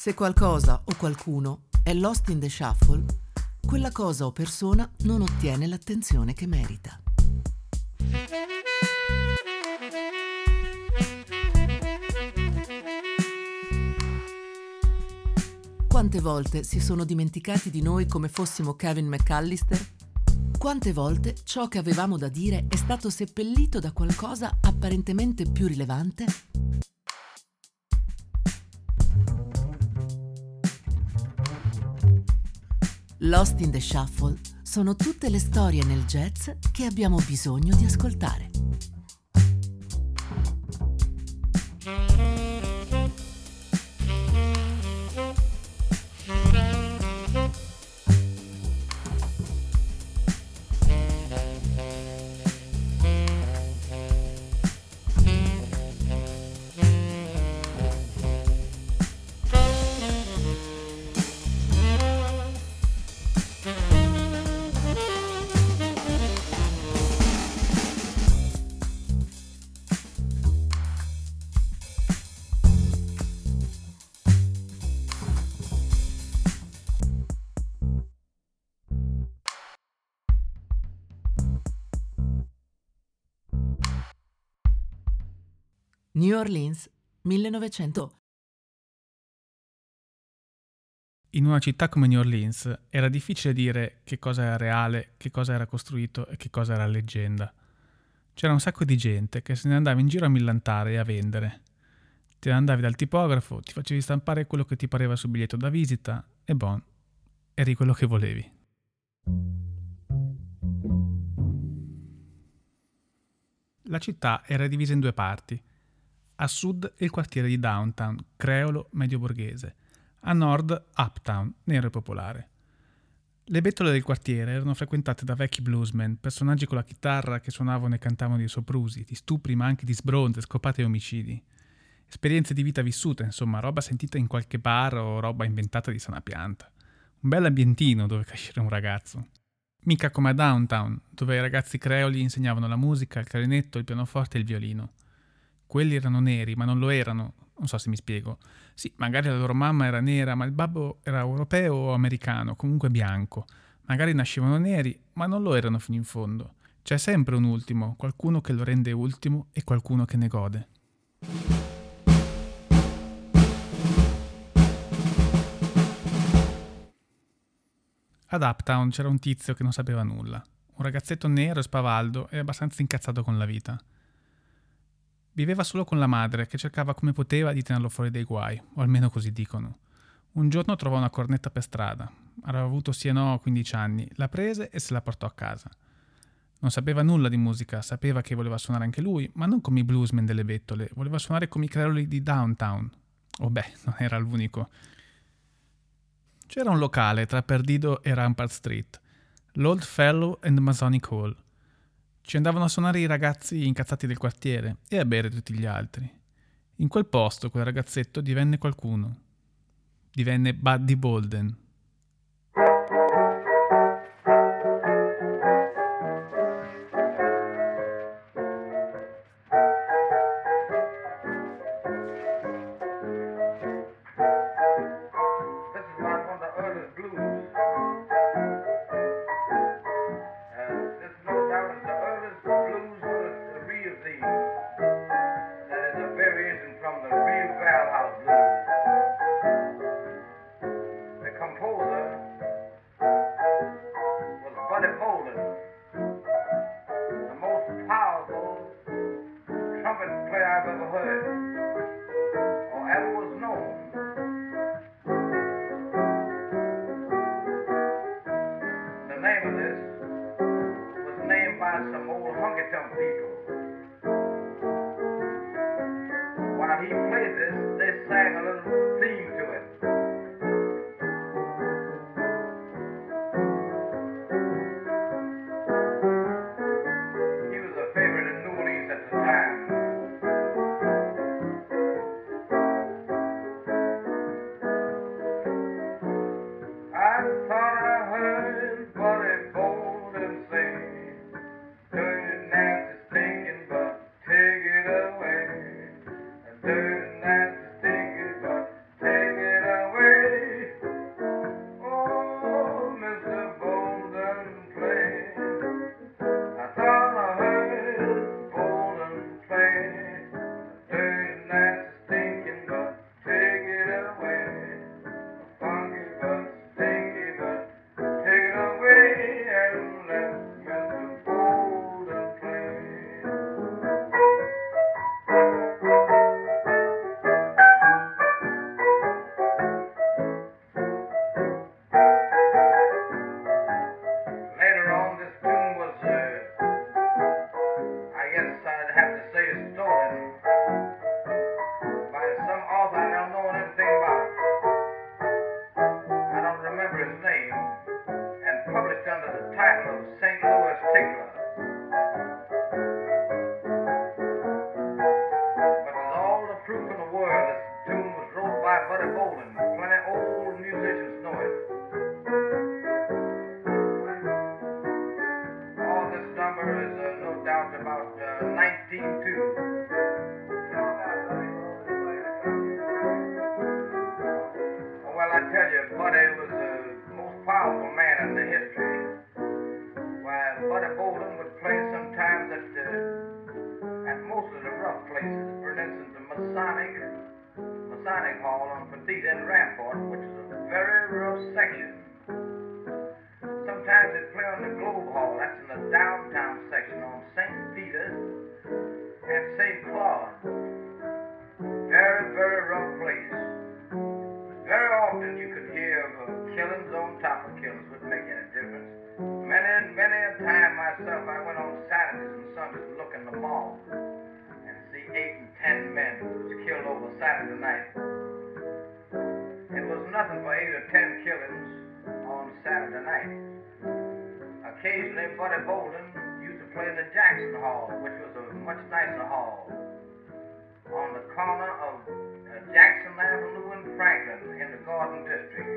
Se qualcosa o qualcuno è lost in the shuffle, quella cosa o persona non ottiene l'attenzione che merita. Quante volte si sono dimenticati di noi come fossimo Kevin McAllister? Quante volte ciò che avevamo da dire è stato seppellito da qualcosa apparentemente più rilevante? Lost in the Shuffle sono tutte le storie nel jazz che abbiamo bisogno di ascoltare. New Orleans, 1900. In una città come New Orleans era difficile dire che cosa era reale, che cosa era costruito e che cosa era leggenda. C'era un sacco di gente che se ne andava in giro a millantare e a vendere. Te ne andavi dal tipografo, ti facevi stampare quello che ti pareva sul biglietto da visita e bon, eri quello che volevi. La città era divisa in due parti. A sud il quartiere di Downtown, creolo medio borghese. A nord Uptown, nero e popolare. Le bettole del quartiere erano frequentate da vecchi bluesmen, personaggi con la chitarra che suonavano e cantavano di soprusi, di stupri ma anche di sbronze, scopate e omicidi. Esperienze di vita vissute, insomma, roba sentita in qualche bar o roba inventata di sana pianta. Un bel ambientino dove crescere un ragazzo. Mica come a Downtown, dove i ragazzi creoli insegnavano la musica, il clarinetto, il pianoforte e il violino. Quelli erano neri, ma non lo erano. Non so se mi spiego. Sì, magari la loro mamma era nera, ma il babbo era europeo o americano, comunque bianco. Magari nascevano neri, ma non lo erano fino in fondo. C'è sempre un ultimo, qualcuno che lo rende ultimo e qualcuno che ne gode. Ad Uptown c'era un tizio che non sapeva nulla. Un ragazzetto nero e spavaldo e abbastanza incazzato con la vita. Viveva solo con la madre, che cercava come poteva di tenerlo fuori dai guai, o almeno così dicono. Un giorno trovò una cornetta per strada. Aveva avuto sì e no 15 anni, la prese e se la portò a casa. Non sapeva nulla di musica, sapeva che voleva suonare anche lui, ma non come i bluesmen delle bettole, voleva suonare come i creoli di Downtown. Oh beh, non era l'unico. C'era un locale tra Perdido e Rampart Street, l'Old Fellow and Masonic Hall. Ci andavano a suonare i ragazzi incazzati del quartiere e a bere tutti gli altri. In quel posto quel ragazzetto divenne qualcuno. Divenne Buddy Bolden. 1902. Well, I tell you, Buddy was the most powerful man in the history. Why, Buddy Bolden would play sometimes at most of the rough places. For instance, the Masonic Hall on Fadita and Rampart, which is a very rough section. Sometimes they'd play on the Globe Hall, that's in the downtown section on St. Peter and St. Claude. Very, very rough place. Very often you could hear of killings on top of killings, wouldn't make any difference. Many a time myself, I went on Saturdays and Sundays to look in the mall and see 8 and 10 men who was killed over Saturday night. It was nothing for 8 or 10 killings on Saturday night. Occasionally, Buddy Bolden used to play in the Jackson Hall, which was a much nicer hall, on the corner of Jackson Avenue and Franklin in the Garden District.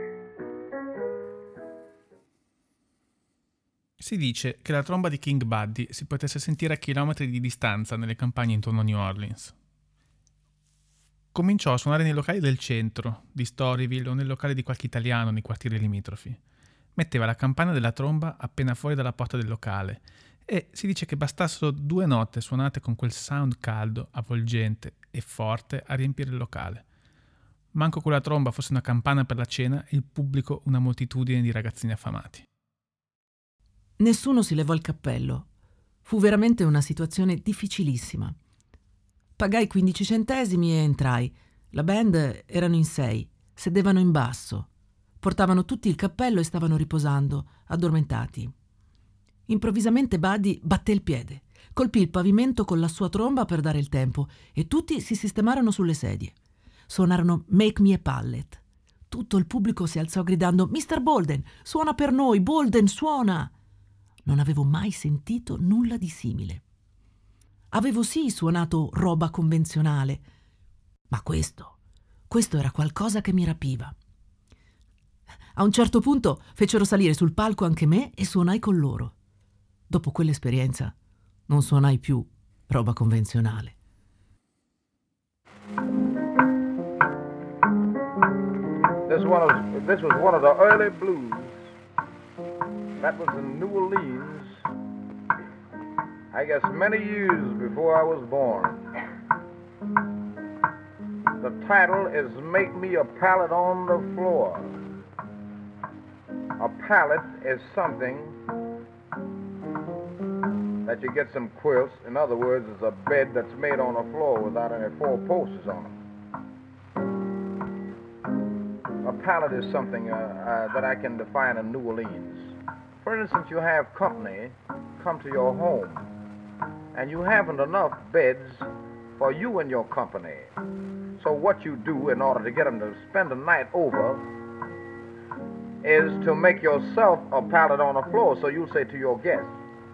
Si dice che la tromba di King Buddy si potesse sentire a chilometri di distanza nelle campagne intorno a New Orleans. Cominciò a suonare nei locali del centro, di Storyville o nel locale di qualche italiano nei quartieri limitrofi. Metteva la campana della tromba appena fuori dalla porta del locale e si dice che bastassero 2 note suonate con quel sound caldo, avvolgente e forte a riempire il locale. Manco quella tromba fosse una campana per la cena e il pubblico una moltitudine di ragazzini affamati. Nessuno si levò il cappello. Fu veramente una situazione difficilissima. Pagai 15 centesimi e entrai. La band erano in 6, sedevano in basso. Portavano tutti il cappello e stavano riposando, addormentati. Improvvisamente Buddy batté il piede, colpì il pavimento con la sua tromba per dare il tempo e tutti si sistemarono sulle sedie. Suonarono Make Me a Pallet. Tutto il pubblico si alzò gridando «Mr. Bolden, suona per noi! Bolden, suona!» Non avevo mai sentito nulla di simile. Avevo sì suonato roba convenzionale, ma questo era qualcosa che mi rapiva. A un certo punto fecero salire sul palco anche me e suonai con loro. Dopo quell'esperienza non suonai più roba convenzionale. This was one of the early blues. That was in New Orleans, I guess many years before I was born. The title is Make Me a Pallet on the Floor. A pallet is something that you get some quilts. In other words, it's a bed that's made on a floor without any 4 posts on it. A pallet is something that I can define in New Orleans. For instance, you have company come to your home, and you haven't enough beds for you and your company. So what you do in order to get them to spend the night over is to make yourself a pallet on the floor. So you'll say to your guests,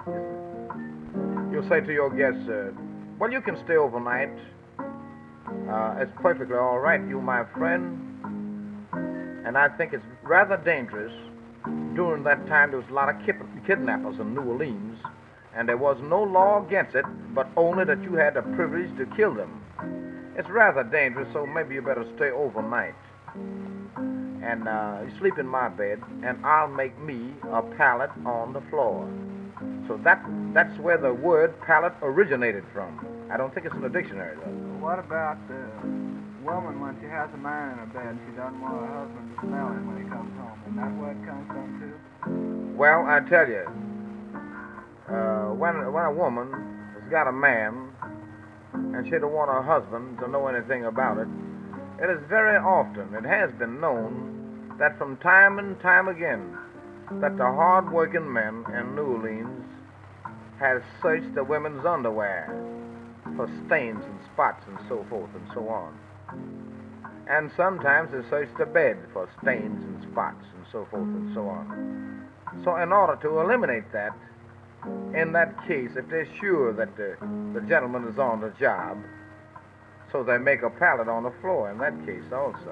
well, you can stay overnight. It's perfectly all right, you my friend. And I think it's rather dangerous. During that time, there was a lot of kidnappers in New Orleans, and there was no law against it, but only that you had the privilege to kill them. It's rather dangerous, so maybe you better stay overnight. And you sleep in my bed, and I'll make me a pallet on the floor. So that's where the word pallet originated from. I don't think it's in the dictionary, though. What about the woman when she has a man in her bed? She doesn't want her husband to smell him when he comes home. Isn't that where it comes from, too? Well, I tell you, when a woman has got a man and she don't want her husband to know anything about it, it is very often, it has been known, that from time and time again, that the hard-working men in New Orleans have searched the women's underwear for stains and spots and so forth and so on. And sometimes they search the bed for stains and spots and so forth and so on. So in order to eliminate that, in that case, if they're sure that the gentleman is on the job, so they make a pallet on the floor in that case also.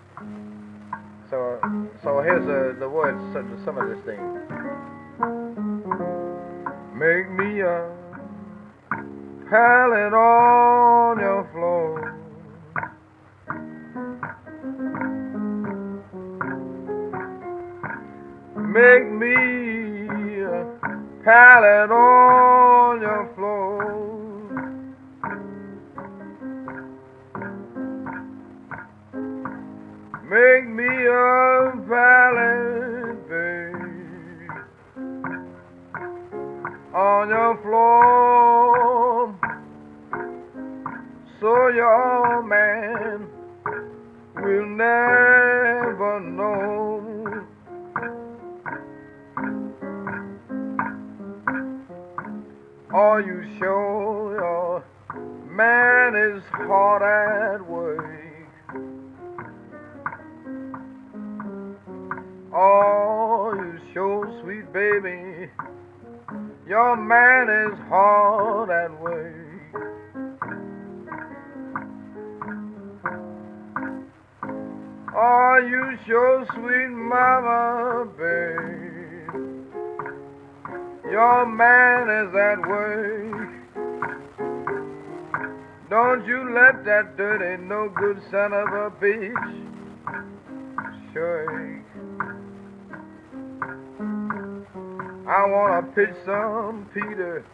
So here's the words to some of this thing. Make me a pallet on your floor. Make me a pallet on your floor. Make me a pallet, babe, on your floor, so your man will never know. Are you sure your man is hard at work? Are you sure, sweet baby, your man is hard at work? Are you sure, sweet mama, babe, your man is at work? Don't you let that dirty, no good son of a bitch shake. I wanna pitch some Peter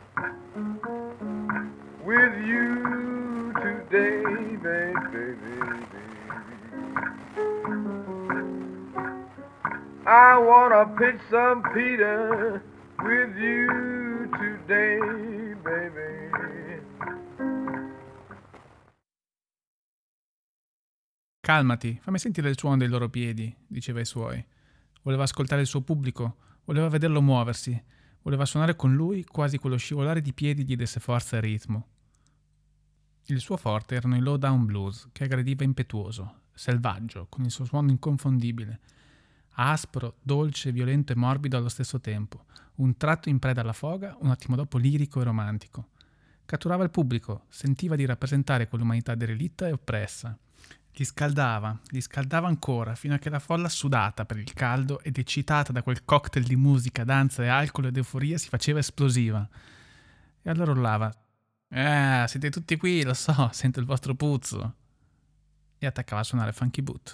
with you today, baby. I wanna pitch some Peter with you today, baby. Calmati, fammi sentire il suono dei loro piedi, diceva ai suoi. Voleva ascoltare il suo pubblico, voleva vederlo muoversi, voleva suonare con lui quasi quello scivolare di piedi gli desse forza e ritmo. Il suo forte erano i low down blues, che aggrediva impetuoso, selvaggio, con il suo suono inconfondibile, aspro, dolce, violento e morbido allo stesso tempo, un tratto in preda alla foga, un attimo dopo lirico e romantico. Catturava il pubblico, sentiva di rappresentare quell'umanità derelitta e oppressa. Li scaldava ancora, fino a che la folla, sudata per il caldo ed eccitata da quel cocktail di musica, danza e alcol ed euforia, si faceva esplosiva. E allora urlava: siete tutti qui, lo so, sento il vostro puzzo. E attaccava a suonare Funky Boot.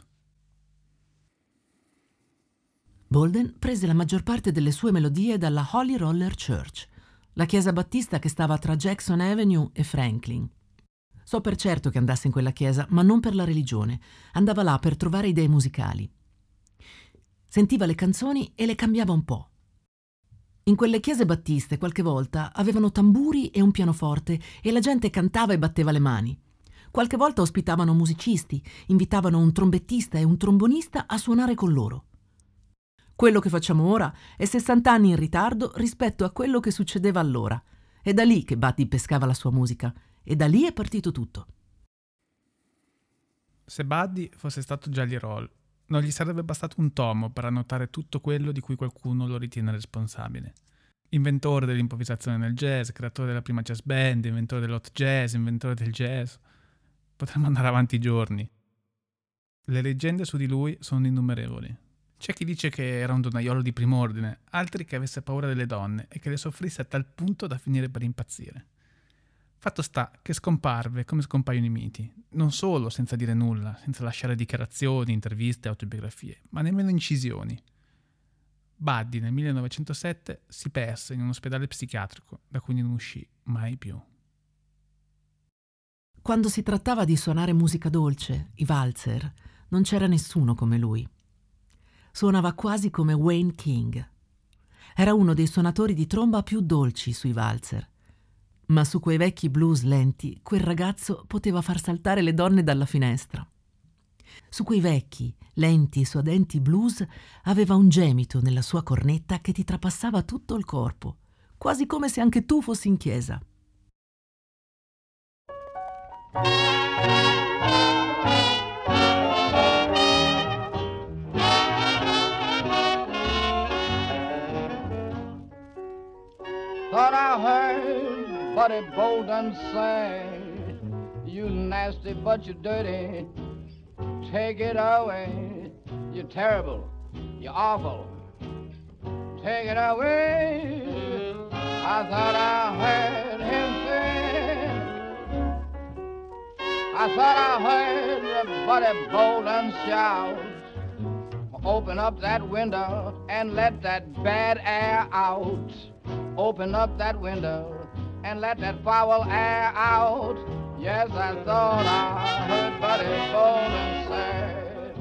Bolden prese la maggior parte delle sue melodie dalla Holy Roller Church, la chiesa battista che stava tra Jackson Avenue e Franklin. So per certo che andasse in quella chiesa, ma non per la religione. Andava là per trovare idee musicali. Sentiva le canzoni e le cambiava un po'. In quelle chiese battiste qualche volta avevano tamburi e un pianoforte e la gente cantava e batteva le mani. Qualche volta ospitavano musicisti, invitavano un trombettista e un trombonista a suonare con loro. Quello che facciamo ora è 60 anni in ritardo rispetto a quello che succedeva allora. È da lì che Buddy pescava la sua musica. E da lì è partito tutto. Se Buddy fosse stato Jelly Roll, non gli sarebbe bastato un tomo per annotare tutto quello di cui qualcuno lo ritiene responsabile. Inventore dell'improvvisazione nel jazz, creatore della prima jazz band, inventore dell'hot jazz, inventore del jazz. Potremmo andare avanti giorni. Le leggende su di lui sono innumerevoli. C'è chi dice che era un donnaiolo di prim'ordine, altri che avesse paura delle donne e che le soffrisse a tal punto da finire per impazzire. Fatto sta che scomparve come scompaiono i miti, non solo senza dire nulla, senza lasciare dichiarazioni, interviste, autobiografie, ma nemmeno incisioni. Buddy nel 1907 si perse in un ospedale psichiatrico da cui non uscì mai più. Quando si trattava di suonare musica dolce, i valzer, non c'era nessuno come lui. Suonava quasi come Wayne King. Era uno dei suonatori di tromba più dolci sui valzer. Ma su quei vecchi blues lenti, quel ragazzo poteva far saltare le donne dalla finestra. Su quei vecchi, lenti e suadenti blues aveva un gemito nella sua cornetta che ti trapassava tutto il corpo, quasi come se anche tu fossi in chiesa. Thought I heard Buddy Bolden say, "You nasty but you dirty, take it away. You're terrible, you're awful, take it away." I thought I heard him say, I thought I heard everybody bawl and shout. Open up that window and let that bad air out. Open up that window and let that foul air out. Yes, I thought I heard Buddy Bolin say.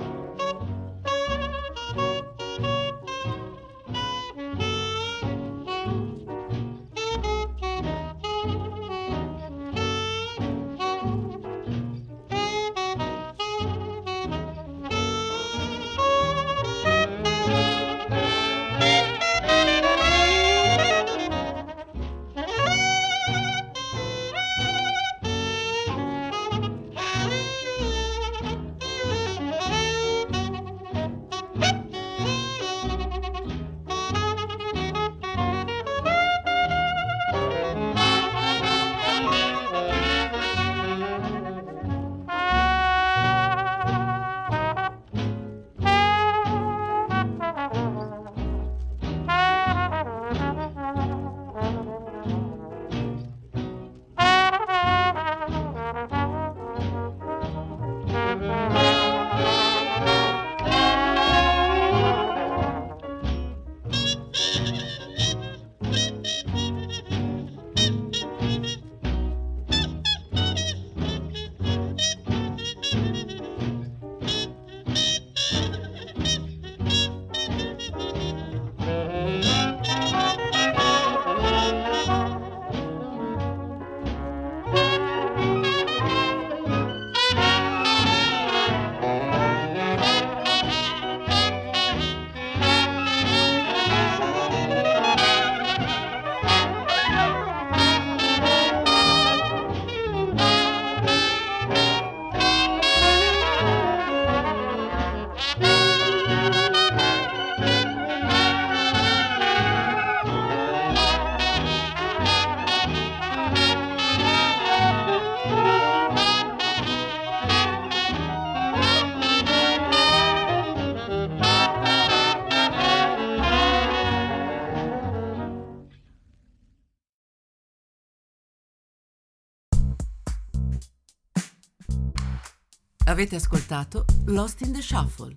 Avete ascoltato Lost in the Shuffle.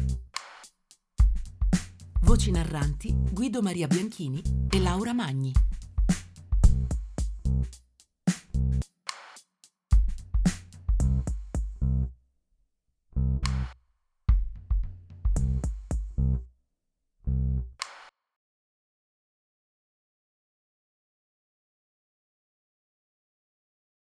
Voci narranti Guido Maria Bianchini e Laura Magni.